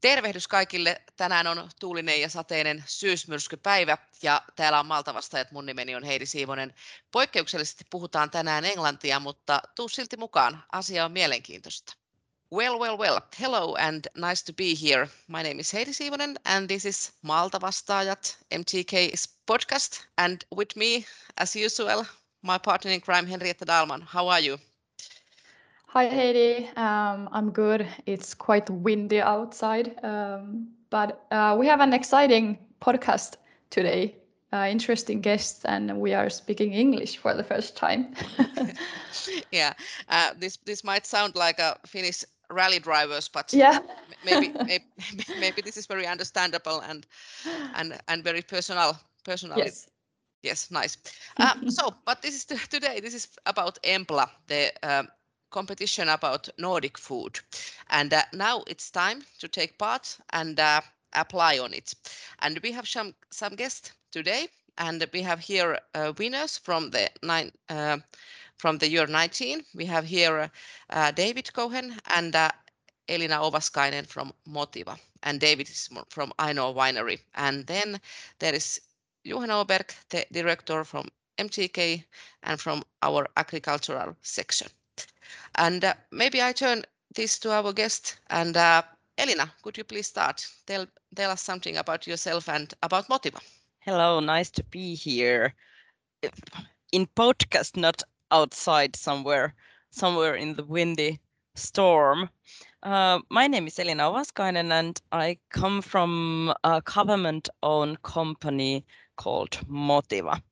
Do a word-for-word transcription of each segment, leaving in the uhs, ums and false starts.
Tervehdys kaikille. Tänään on tuulinen ja sateinen syysmyrskypäivä ja täällä on Maltavastaajat. Mun nimeni on Heidi Siivonen. Poikkeuksellisesti puhutaan tänään englantia, mutta tuu silti mukaan. Asia on mielenkiintoista. Well, well, well. Hello and nice to be here. My name is Heidi Siivonen and this is Maltavastaajat M T K's podcast. And with me, as usual, my partner in crime, Henrietta Dahlman. How are you? Hi Heidi, um, I'm good. It's quite windy outside, um, but uh, we have an exciting podcast today. Uh, interesting guests, and we are speaking English for the first time. Yeah, uh, this this might sound like a Finnish rally drivers, but yeah, maybe, maybe maybe this is very understandable and and and very personal personally. Yes. Yes, nice. Uh, so, but this is t- today. This is about Embla, the uh, competition about Nordic food, and uh, now it's time to take part and uh, apply on it. And we have some some guests today, and we have here uh, winners from the nine uh, from the year nineteen. We have here uh, David Cohen and uh, Elina Ovaskainen from Motiva, and David is from Ainoa Winery, and then there is Johan Oberg, the director from M T K and from our agricultural section. And uh, maybe I turn this to our guest. And uh, Elina, could you please start? Tell, tell us something about yourself and about Motiva. Hello, nice to be here. In podcast, not outside somewhere, somewhere in the windy storm. Uh, my name is Elina Ovaskainen and I come from a government-owned company called Motiva.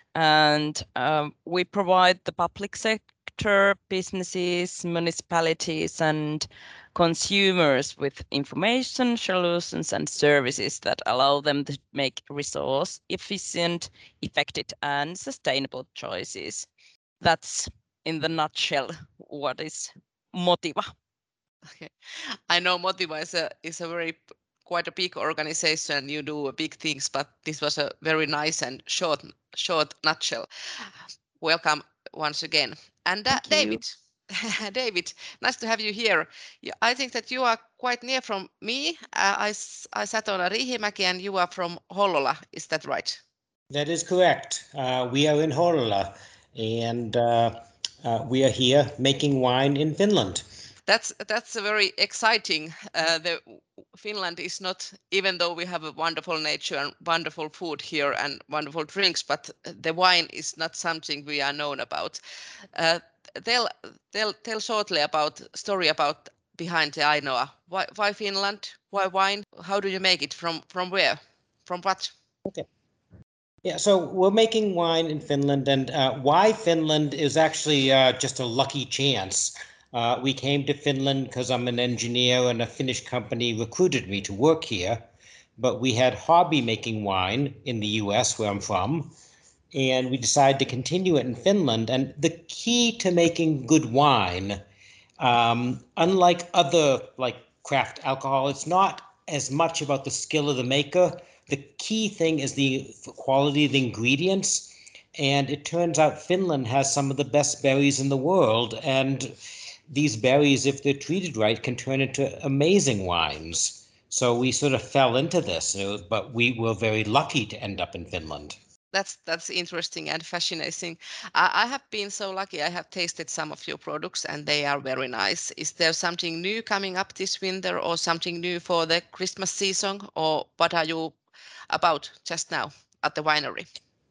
And um, we provide the public sector, businesses, municipalities, and consumers with information, solutions, and services that allow them to make resource efficient, effective, and sustainable choices. That's in the nutshell what is Motiva. Okay. I know Motiva is a is a very quite a big organization. You do big things, but this was a very nice and short short nutshell. Welcome once again. And uh, David, David, nice to have you here. I think that you are quite near from me. Uh, I, I sat on a Riihimäki and you are from Hollola. Is that right? That is correct. Uh, we are in Hollola and uh, uh, we are here making wine in Finland. That's that's a very exciting. Uh, the Finland is not, even though we have a wonderful nature and wonderful food here and wonderful drinks, but the wine is not something we are known about. Uh, tell tell tell shortly about story about behind the Ainoa. Why why Finland? Why wine? How do you make it? From from where? From what? Okay. Yeah, so we're making wine in Finland, and uh, why Finland is actually uh, just a lucky chance. Uh, we came to Finland because I'm an engineer and a Finnish company recruited me to work here. But we had hobby making wine in the U S where I'm from, and we decided to continue it in Finland. And the key to making good wine, um, unlike other like craft alcohol, it's not as much about the skill of the maker. The key thing is the quality of the ingredients. And it turns out Finland has some of the best berries in the world. And these berries, if they're treated right, can turn into amazing wines. So we sort of fell into this, but we were very lucky to end up in Finland. That's that's interesting and fascinating. I, I have been so lucky. I have tasted some of your products and they are very nice. Is there something new coming up this winter or something new for the Christmas season, or what are you about just now at the winery?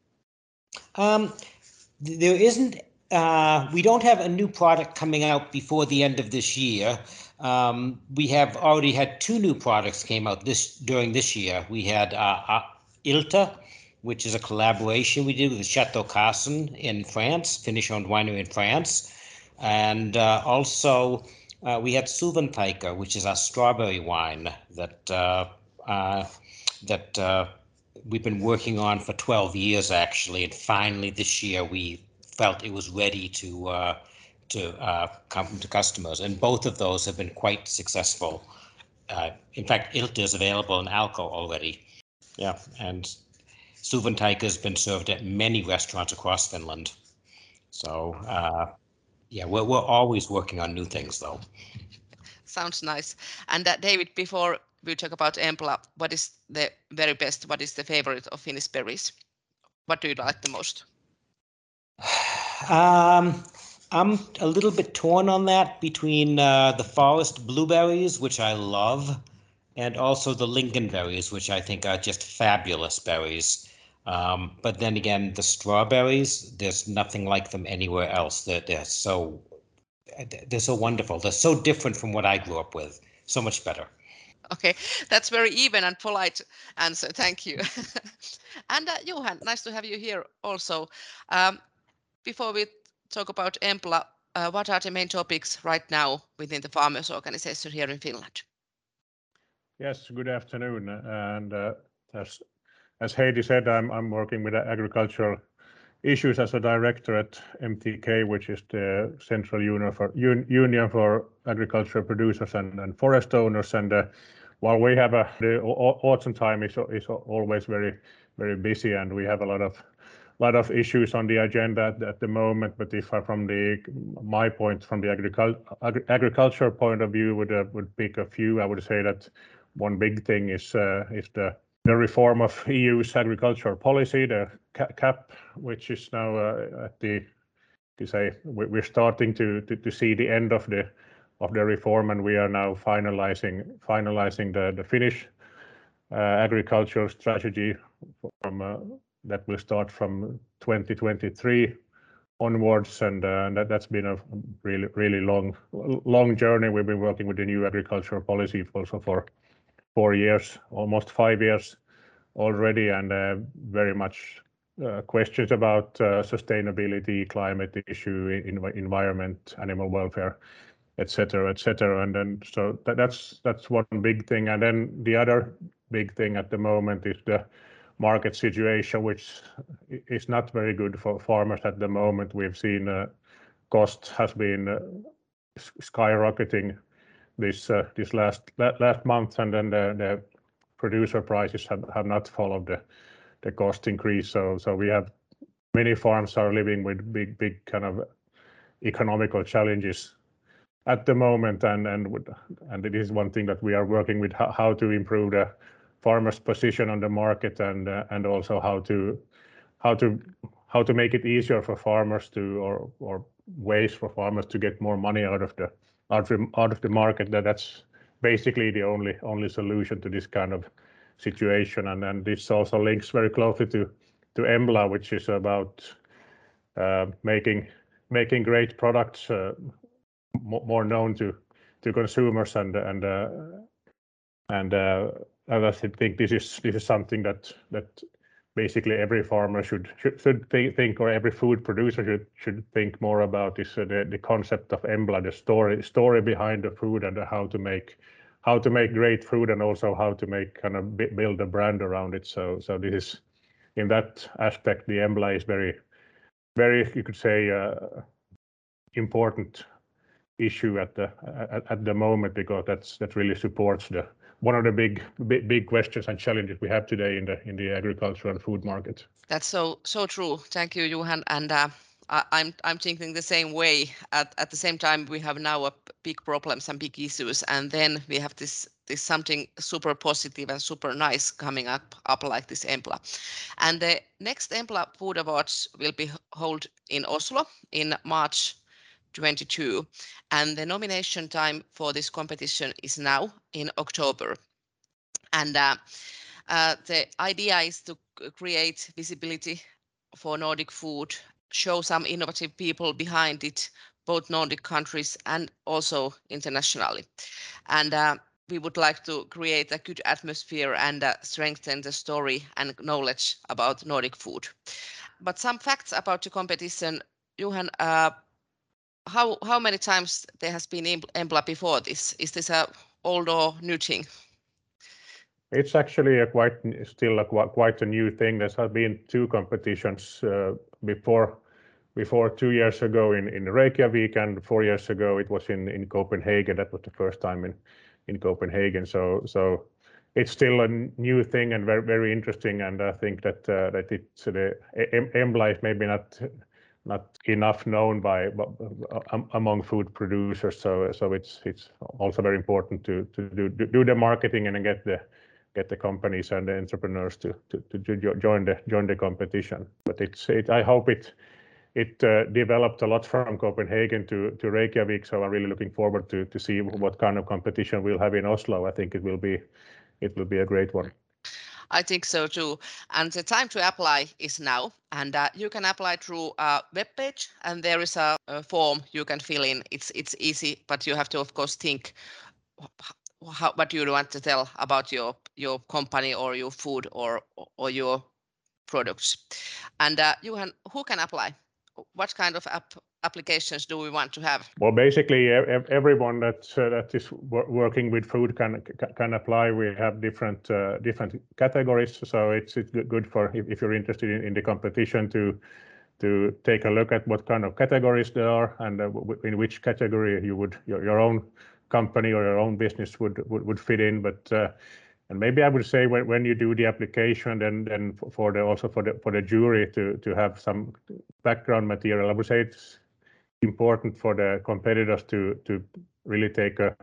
Um, there isn't. Uh, we don't have a new product coming out before the end of this year. Um, we have already had two new products came out this during this year. We had uh, uh, Ilta, which is a collaboration we did with Chateau Carson in France, Finnish-owned winery in France. And uh, also uh, we had Suvantaika, which is our strawberry wine that uh, uh, that uh, we've been working on for twelve years, actually. And finally this year we felt it was ready to uh, to uh, come to customers. And both of those have been quite successful. Uh, in fact, Ilta is available in Alko already. Yeah, and Suvantaika has been served at many restaurants across Finland. So, uh, yeah, we're, we're always working on new things, though. Sounds nice. And uh, David, before we talk about Embla, what is the very best, what is the favorite of Finnish berries? What do you like the most? Um, I'm a little bit torn on that between uh, the forest blueberries, which I love, and also the lingonberries, which I think are just fabulous berries. Um, but then again, the strawberries, there's nothing like them anywhere else. They're, they're so they're so wonderful. They're so different from what I grew up with. So much better. Okay, that's very even and polite answer. Thank you. And uh, Johan, nice to have you here also. Um, before we talk about Embla, uh, what are the main topics right now within the farmers organization here in Finland? Yes, good afternoon. And uh, as, as Heidi said, I'm, I'm working with agricultural issues as a director at M T K, which is the Central Union for, Un, Union for Agricultural Producers and, and Forest Owners. And uh, while we have a, the autumn time is, is always very, very busy, and we have a lot of lot of issues on the agenda at, at the moment. But if I, from the my point, from the agricul agri agriculture point of view, would uh, would pick a few, I would say that one big thing is uh, is the the reform of E U's agricultural policy, the C A P, which is now uh, at the, to say, we're starting to, to to see the end of the of the reform, and we are now finalizing finalizing the the Finnish uh, agricultural strategy from uh, that will start from twenty twenty-three onwards, and, uh, and that, that's been a really really long long journey. We've been working with the new agricultural policy also for four years, almost five years already, and uh, very much uh, questions about uh, sustainability, climate issue, in, environment, animal welfare, et cetera, et cetera. And then so that, that's that's one big thing. And then the other big thing at the moment is the market situation, which is not very good for farmers at the moment. We've seen uh, cost has been uh, skyrocketing this uh, this last last month, and then the, the producer prices have, have not followed the the cost increase. So so we have many farms are living with big big kind of economical challenges at the moment, and and and it is one thing that we are working with, how, how to improve the farmers' position on the market, and uh, and also how to how to how to make it easier for farmers to, or or ways for farmers to get more money out of the out of, out of the market. That that's basically the only only solution to this kind of situation. And then this also links very closely to to Embla, which is about uh, making making great products uh, more known to to consumers, and and uh, and uh, I think this is this is something that that basically every farmer should should, should think, or every food producer should should think more about, is uh, the the concept of Embla, the story story behind the food, and how to make how to make great food, and also how to make kind of build a brand around it. So so this is, in that aspect, the Embla is very very, you could say, uh, important issue at the at, at the moment, because that's that really supports the one of the big, big big questions and challenges we have today in the in the agriculture and food market. That's so so true. Thank you, Johan. And uh, I, I'm I'm thinking the same way. At at the same time, we have now a big problems and big issues, and then we have this this something super positive and super nice coming up up like this Embla. And the next Embla Food Awards will be held in Oslo in March twenty-two, and the nomination time for this competition is now in October. And uh, uh, the idea is to create visibility for Nordic food, show some innovative people behind it, both Nordic countries and also internationally. And uh, we would like to create a good atmosphere and uh, strengthen the story and knowledge about Nordic food. But some facts about the competition, Johan, uh, how how many times there has been Embla before this? Is this a old or new thing? It's actually a quite still a quite a new thing. There have been two competitions uh, before before two years ago in in Reykjavik, and four years ago it was in in Copenhagen. That was the first time in in Copenhagen. So so it's still a new thing and very very interesting. And I think that uh, that it's the Embla is maybe not not enough known by um, among food producers. So so it's it's also very important to to do do the marketing and get the get the companies and the entrepreneurs to to, to join the join the competition. But it's it, I hope it it uh, developed a lot from Copenhagen to to Reykjavik. So I'm really looking forward to to see what kind of competition we'll have in Oslo. I think it will be it will be a great one. I think so too. And the time to apply is now. And uh, you can apply through a web page, and there is a, a form you can fill in. It's it's easy, but you have to, of course, think how, what you want to tell about your your company or your food or or your products. And uh, you can, who can apply? What kind of app applications do we want to have? Well, basically, everyone that uh, that is working with food can can apply. We have different uh, different categories, so it's it's good for if, if you're interested in, in the competition to to take a look at what kind of categories there are and uh, in which category you would your, your own company or your own business would would, would fit in. But uh, and maybe I would say when, when you do the application, then then for the also for the for the jury to to have some background material, I would say it's important for the competitors to to really take a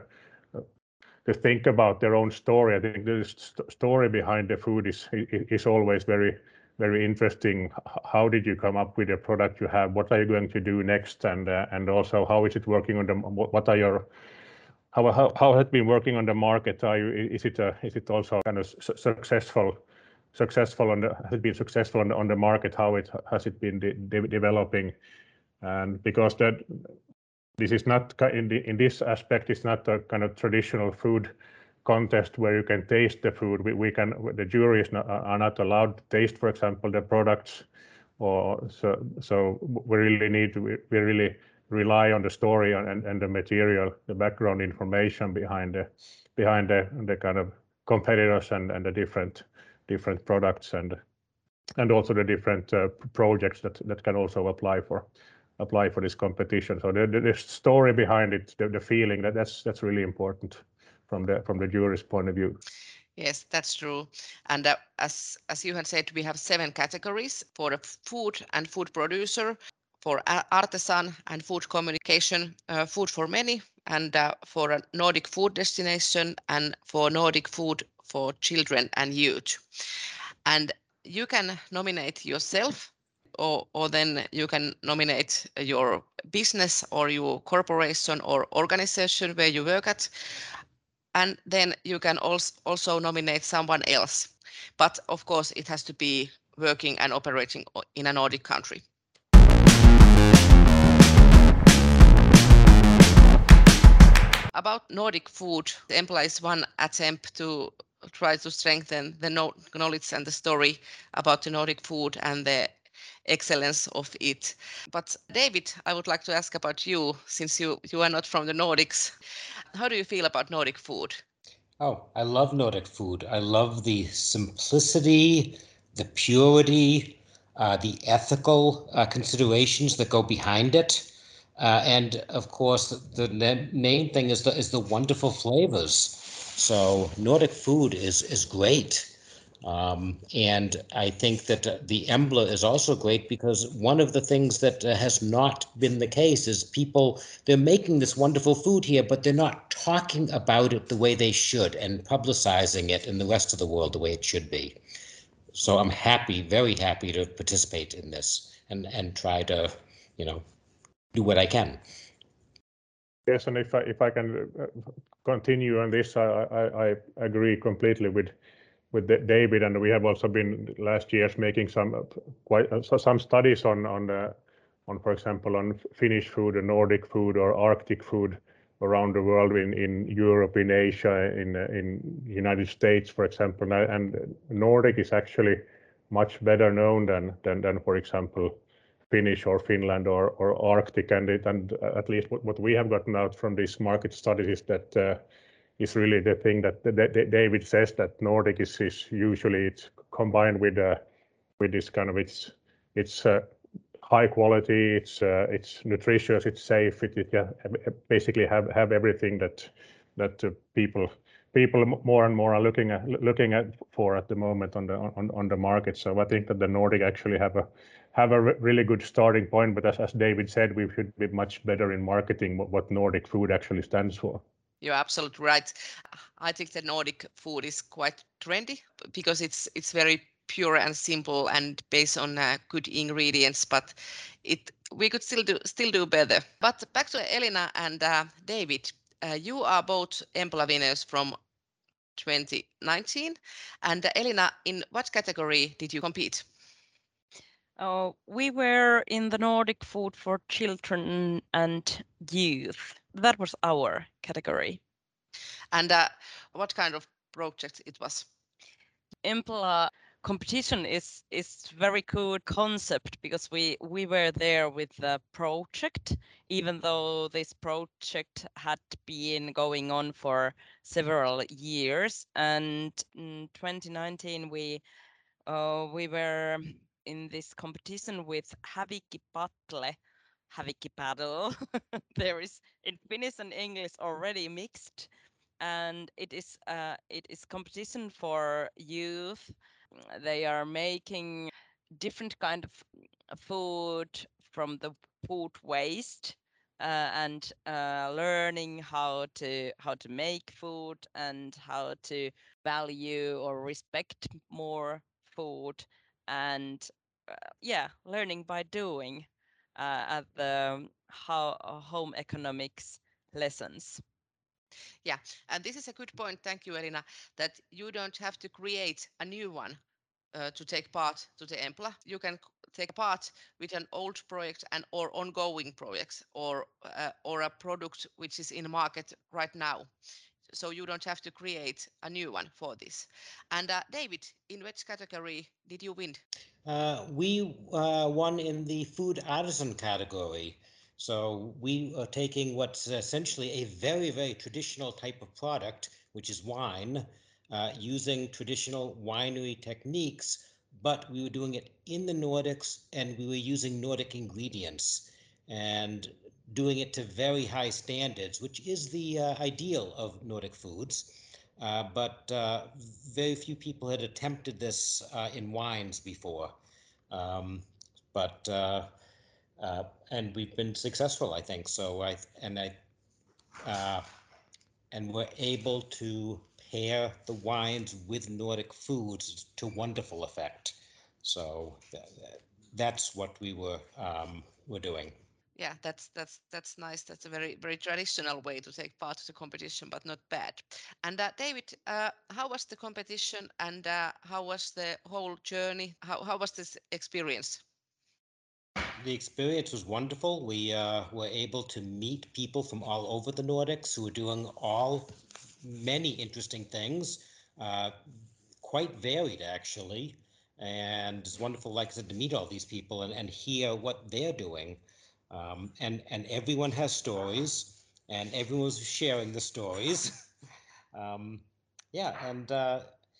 to think about their own story. I think the st story behind the food is is always very very interesting. How did you come up with the product you have? What are you going to do next? And uh, and also how is it working on the what are your how how how has it been working on the market? Are you is it a is it also kind of su successful successful on the has it been successful on the on the market? How it has it been de de developing? And because that this is not in the in this aspect, it's not a kind of traditional food contest where you can taste the food. We, we can the jury is not, are not allowed to taste, for example, the products, or so so we really need to we, we really rely on the story and, and the material, the background information behind the behind the the kind of competitors and and the different different products and and also the different uh, projects that that can also apply for apply for this competition. So the, the story behind it, the, the feeling that that's that's really important from the from the jury's point of view. Yes, that's true. And uh, as as you had said, we have seven categories for the food and food producer, for artisan and food communication, uh, food for many, and uh, for a Nordic food destination, and for Nordic food for children and youth. And you can nominate yourself, or, or then you can nominate your business or your corporation or organization where you work at. And then you can also, also nominate someone else. But of course, it has to be working and operating in a Nordic country. About Nordic food, the Embla is one attempt to try to strengthen the knowledge and the story about the Nordic food and the excellence of it. But David, I would like to ask about you, since you, you are not from the Nordics. How do you feel about Nordic food? Oh, I love Nordic food. I love the simplicity, the purity, uh, the ethical uh, considerations that go behind it. Uh, and of course, the, the main thing is the, is the wonderful flavors. So Nordic food is, is great. Um, and I think that uh, the Embla is also great because one of the things that uh, has not been the case is people, they're making this wonderful food here, but they're not talking about it the way they should and publicizing it in the rest of the world the way it should be. So I'm happy, very happy to participate in this and, and try to, you know, do what I can. Yes, and if I, if I can continue on this, I, I, I agree completely with with David, and we have also been last years making some quite uh, some studies on on uh, on for example on Finnish food, or Nordic food, or Arctic food around the world, in in Europe, in Asia, in uh, in United States, for example, and Nordic is actually much better known than than than for example Finnish or Finland or or Arctic, and it and at least what, what we have gotten out from these market studies is that. Uh, is really the thing that, that, that David says, that Nordic is, is usually it's combined with uh, with this kind of it's it's uh, high quality, it's uh, it's nutritious, it's safe, it, it uh, basically have have everything that that uh, people people more and more are looking at looking at for at the moment on the on, on the market. So I think that the Nordic actually have a have a really good starting point. But as, as David said, we should be much better in marketing what, what Nordic food actually stands for. You're absolutely right. I think the Nordic food is quite trendy because it's it's very pure and simple and based on uh, good ingredients. But it we could still do still do better. But back to Elina and uh, David. Uh, you are both Empla winners from twenty nineteen. And uh, Elina, in what category did you compete? Uh, we were in the Nordic food for children and youth. That was our category. And uh, what kind of project it was? Empla competition is is very good concept because we we were there with the project, even though this project had been going on for several years. And in twenty nineteen we uh, we were in this competition with Hävikki Paddle, Hävikki Paddle. There is in Finnish and English already mixed, and it is uh, it is competition for youth. They are making different kind of food from the food waste. Uh, and uh, learning how to how to make food and how to value or respect more food, and uh, yeah, learning by doing uh, at the how uh, home economics lessons. Yeah, and this is a good point. Thank you, Elina, that you don't have to create a new one uh, to take part to the Empla. You can take part with an old project and or ongoing projects or uh, or a product which is in the market right now. So you don't have to create a new one for this. And uh, David, in which category did you win? Uh, we uh, won in the food artisan category. So we are taking what's essentially a very, very traditional type of product, which is wine, uh, using traditional winery techniques, but we were doing it in the Nordics and we were using Nordic ingredients and doing it to very high standards, which is the uh, ideal of Nordic foods. Uh, but uh, very few people had attempted this uh, in wines before. Um, but uh, uh, and we've been successful, I think. So I and I uh, and we're able to pair the wines with Nordic foods to wonderful effect. So th- that's what we were um, were doing. Yeah, that's that's that's nice. That's a very very traditional way to take part to the competition, but not bad. And uh, David, uh, how was the competition and uh, how was the whole journey? How how was this experience? The experience was wonderful. We uh, were able to meet people from all over the Nordics who are doing all many interesting things, uh, quite varied actually. And it's wonderful, like I said, to meet all these people and, and hear what they're doing. Um, and, and everyone has stories, and everyone's sharing the stories. um, yeah, and uh,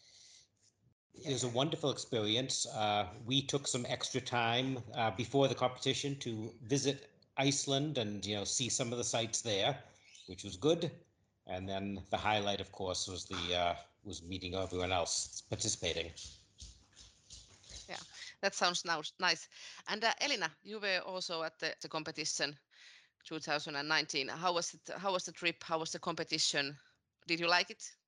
it was a wonderful experience. Uh, we took some extra time uh, before the competition to visit Iceland and you know see some of the sites there, which was good. And then the highlight, of course, was the uh, was meeting everyone else participating. Yeah, that sounds now nice. And uh, Elina, you were also at the, the competition two thousand nineteen. How was it? How was the trip? How was the competition? Did you like it?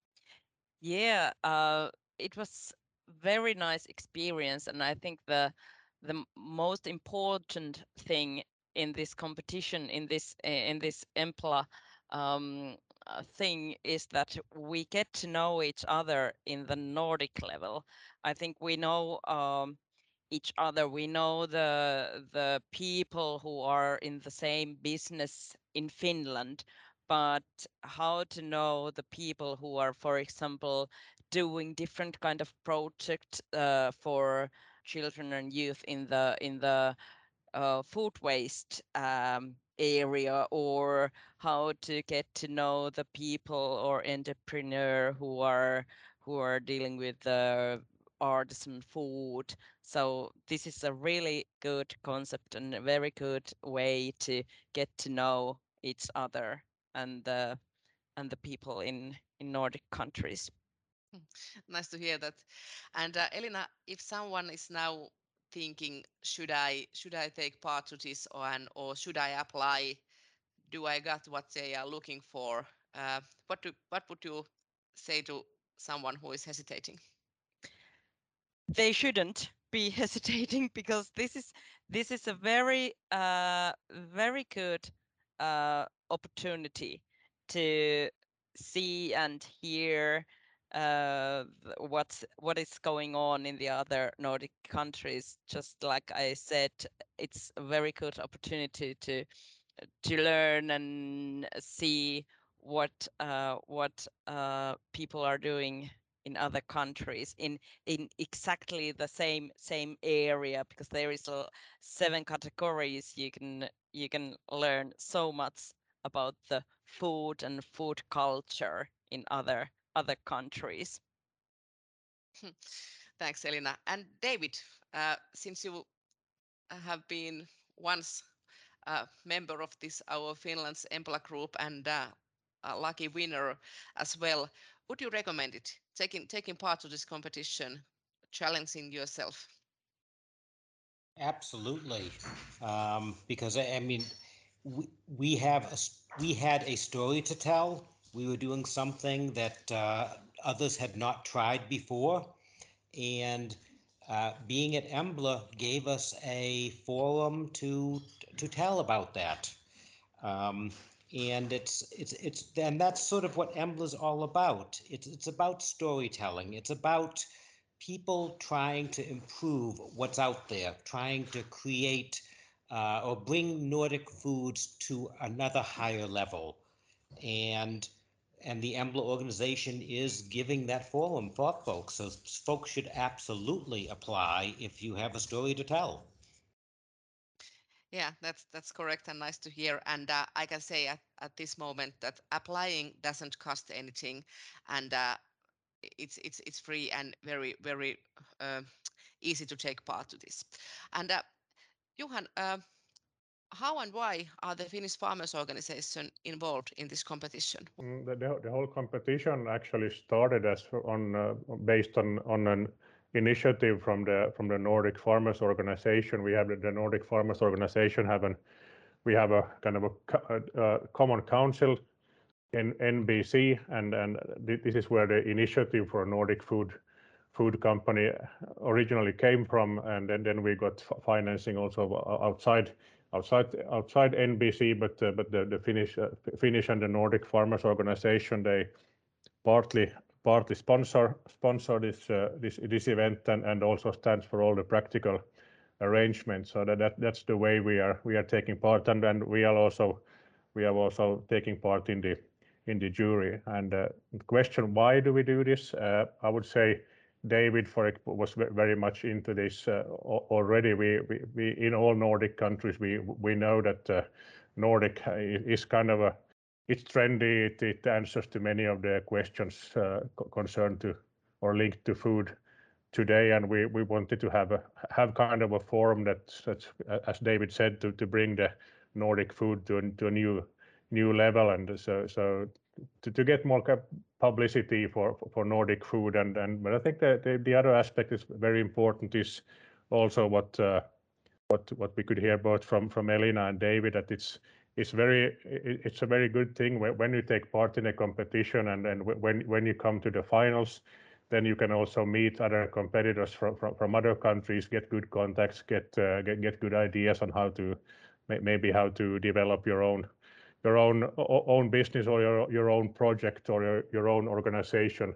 Yeah, uh, it was very nice experience, and I think the the m- most important thing in this competition, in this eh, in this Empla um, uh, thing, is that we get to know each other in the Nordic level. I think we know um, each other. We know the the people who are in the same business in Finland, but how to know the people who are, for example, doing different kind of project uh, for children and youth in the in the uh, food waste um, area, or how to get to know the people or entrepreneur who are who are dealing with the artisan food. So this is a really good concept and a very good way to get to know each other and the and the people in in Nordic countries. Nice to hear that. And uh, Elina, if someone is now thinking, should I should I take part to this, or and or should I apply? Do I got what they are looking for? Uh, what do what would you say to someone who is hesitating? They shouldn't be hesitating, because this is this is a very uh, very good uh, opportunity to see and hear uh, what's what is going on in the other Nordic countries. Just like I said, it's a very good opportunity to to learn and see what uh, what uh, people are doing in other countries in in exactly the same same area, because there is a seven categories. You can you can learn so much about the food and food culture in other other countries. Thanks, Elina. And David, uh, since you have been once a member of this our Finland's Embla group and uh, a lucky winner as well, would you recommend it, taking taking part to this competition, challenging yourself? Absolutely, um, because I, I mean, we, we have a, s- we had a story to tell. We were doing something that uh, others had not tried before, and uh, being at Embla gave us a forum to to tell about that. Um, and it's it's it's and that's sort of what Embla is all about. It's it's about storytelling. It's about people trying to improve what's out there, trying to create uh, or bring Nordic foods to another higher level. And and the Embla organization is giving that forum for folks. So folks should absolutely apply if you have a story to tell. Yeah, that's that's correct and nice to hear. And uh, I can say at, at this moment that applying doesn't cost anything, and uh, it's it's it's free and very very uh, easy to take part to this. And uh, Johan, uh, how and why are the Finnish Farmers Organization involved in this competition? Mm, The, the, the whole competition actually started as on uh, based on on an initiative from the from the Nordic Farmers Organization. We have the, the Nordic Farmers Organization have an we have a kind of a, co- a common council in N B C, and and this is where the initiative for a Nordic food food company originally came from, and then, then we got financing also outside outside outside N B C, but uh, but the, the Finnish uh, Finnish and the Nordic Farmers Organization, they partly partly sponsor sponsor this uh, this this event, and, and also stands for all the practical arrangements. So that, that that's the way we are we are taking part, and and we are also we are also taking part in the in the jury. And uh, the question, why do we do this? Uh, I would say David for it was very much into this uh, already. We, we we in all Nordic countries we we know that uh, Nordic is kind of a it's trendy. It, it answers to many of the questions uh, concerned to or linked to food today, and we, we wanted to have a have kind of a forum that, that's as David said, to, to bring the Nordic food to, to a new new level, and so so to, to get more publicity for for Nordic food, and and but I think that the, the other aspect is very important is also what uh, what what we could hear both from from Elina and David, that it's it's very it's a very good thing when, when you take part in a competition, and then when when you come to the finals, then you can also meet other competitors from from, from other countries, get good contacts, get uh, get get good ideas on how to maybe how to develop your own your own own business, or your your own project, or your, your own organization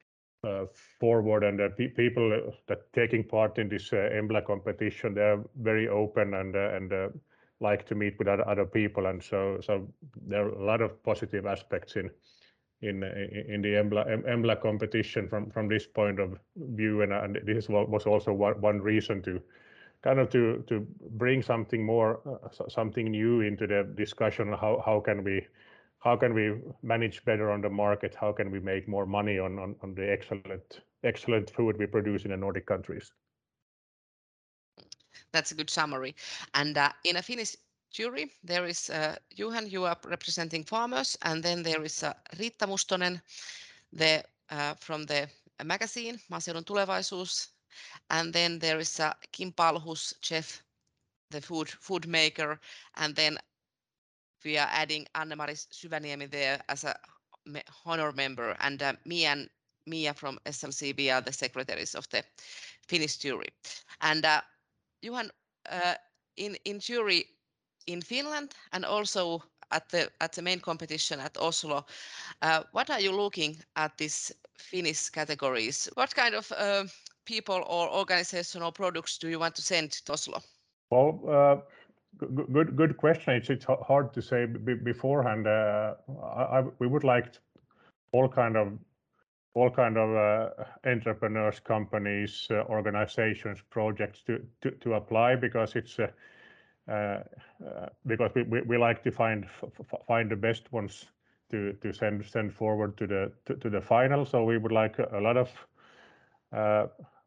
uh, forward. And uh, pe people that taking part in this uh, Embla competition, they're very open, and uh, and uh, like to meet with other, other people, and so so there are a lot of positive aspects in in in the Embla Embla competition from from this point of view, and, and this was also one, one reason to kind of to to bring something more uh, something new into the discussion. How how can we how can we manage better on the market? How can we make more money on on, on the excellent excellent food we produce in the Nordic countries? That's a good summary. And uh, in a Finnish jury. There is uh, Johan, you are representing farmers, and then there is uh, Riitta Mustonen, the uh, from the magazine Maaseudun Tulevaisuus, and then there is uh, Kim Palhus, chef, the food food maker, and then we are adding Anne-Mari Syväniemi there as a honor member, and uh, me and Mia from S L C B are the secretaries of the Finnish jury. And uh, Johan, uh, in in jury in Finland and also at the at the main competition at Oslo, uh, what are you looking at these Finnish categories? What kind of uh, people or organization or products do you want to send to Oslo? Well, uh, good, good, good question. It's it's hard to say b beforehand. Uh, I, I, we would like all kind of all kind of uh, entrepreneurs, companies, uh, organizations, projects to, to to apply, because it's uh, uh, uh, because we, we, we like to find find the best ones to to send send forward to the to, to the final. So we would like a, a lot of uh,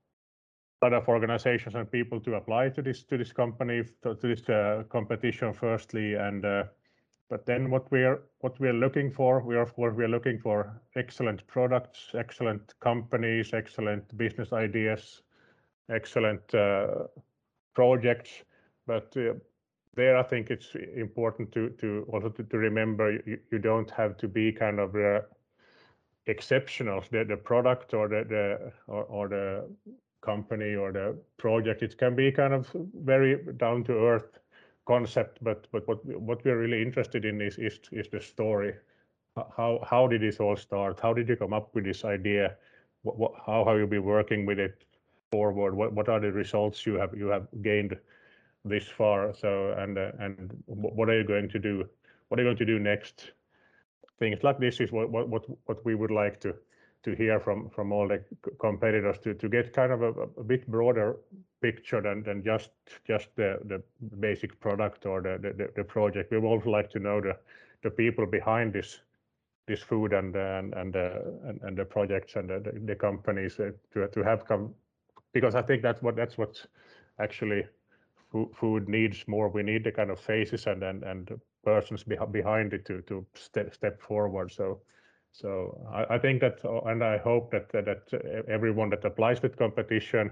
lot of organizations and people to apply to this to this company to, to this uh, competition firstly, and uh, but then what we are what we are looking for, we are of course we are looking for excellent products, excellent companies, excellent business ideas, excellent uh, projects, but uh, there I think it's important to to also to, to remember you, you don't have to be kind of uh, exceptional. The, the product or the, the or, or the company or the project, it can be kind of very down to earth concept, but but what what we're really interested in is is, is the story. How how did this all start? How did you come up with this idea? What, what, how have you been working with it forward? What what are the results you have you have gained this far? So and uh, and what are you going to do? What are you going to do next? Things like this is what what what, what we would like to to hear from from all the competitors, to to get kind of a, a bit broader picture than than just just the the basic product or the the, the project. We would also like to know the the people behind this this food and and and uh, and, and the projects and the, the, the companies uh, to to have come, because I think that's what that's what actually food needs more. We need the kind of faces and and and persons behind it to to step step forward. So so I, I think that, and I hope that that everyone that applies to competition,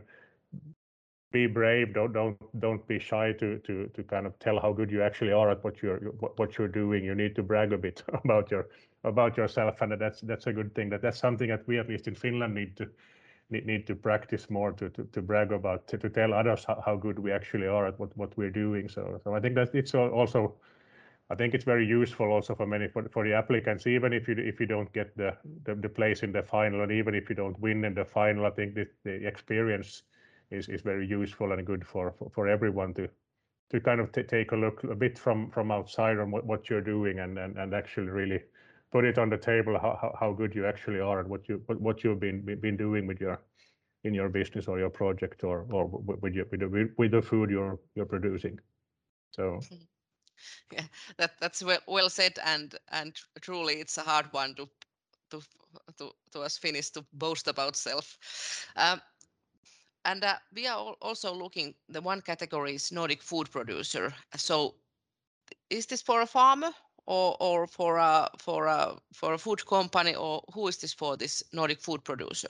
be brave. Don't don't don't be shy to to to kind of tell how good you actually are at what you're what you're doing. You need to brag a bit about your about yourself, and that's that's a good thing. That that's something that we, at least in Finland, need to need, need to practice more, to to, to brag about, to, to tell others how, how good we actually are at what what we're doing. So so I think that it's also, I think it's very useful also for many for, for the applicants, even if you if you don't get the, the the place in the final, and even if you don't win in the final. I think that the experience is is very useful and good for for, for everyone to to kind of t- take a look a bit from from outside on what, what you're doing, and, and and actually really put it on the table how how good you actually are and what you what, what you've been been doing with your in your business or your project, or or with your with the, with the food you're you're producing. So yeah, that that's well, well said, and and truly it's a hard one to to to, to us Finnish to boast about self. Um, and uh, we are also looking, the one category is Nordic food producer. So is this for a farmer or or for a for a for a food company, or who is this for, this Nordic food producer?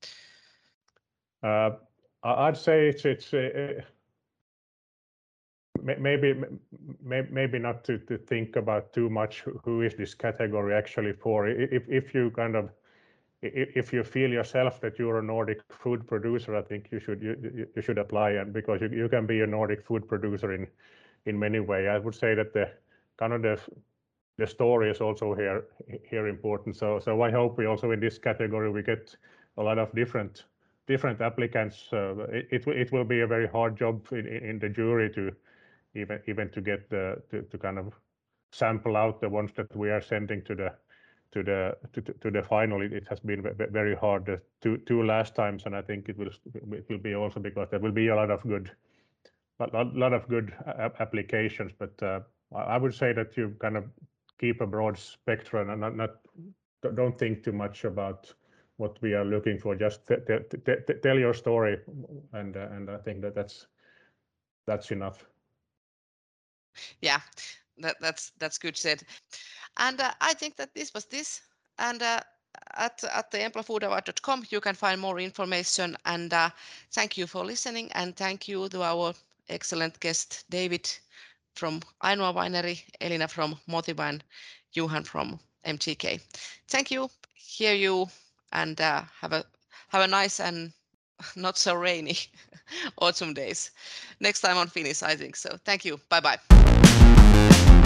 Uh, I'd say it's it's uh, maybe maybe not to, to think about too much who is this category actually for. If if you kind of if you feel yourself that you're a Nordic food producer, I think you should you, you should apply, and because you, you can be a Nordic food producer in in many ways. I would say that the kind of the the story is also here here important. So so I hope we also in this category we get a lot of different different applicants. Uh, it, it it will be a very hard job in, in the jury to even even to get the to, to kind of sample out the ones that we are sending to the to the to, to the final. It, it has been very hard the two two last times, and I think it will it will be also because there will be a lot of good a lot of good applications. But uh, I would say that you kind of keep a broad spectrum and not, not don't think too much about what we are looking for. Just t- t- t- tell your story, and uh, and I think that that's that's enough. Yeah, that, that's that's good said. And uh, I think that this was this. And uh, at at the empla food award dot com you can find more information. And uh, thank you for listening. And thank you to our excellent guest David from Ainoa Winery, Elina from Motiva, and Johan from M T K. Thank you. Hear you, and uh, have a have a nice and not so rainy autumn days. Next time on Finnish, I think so. Thank you. Bye bye.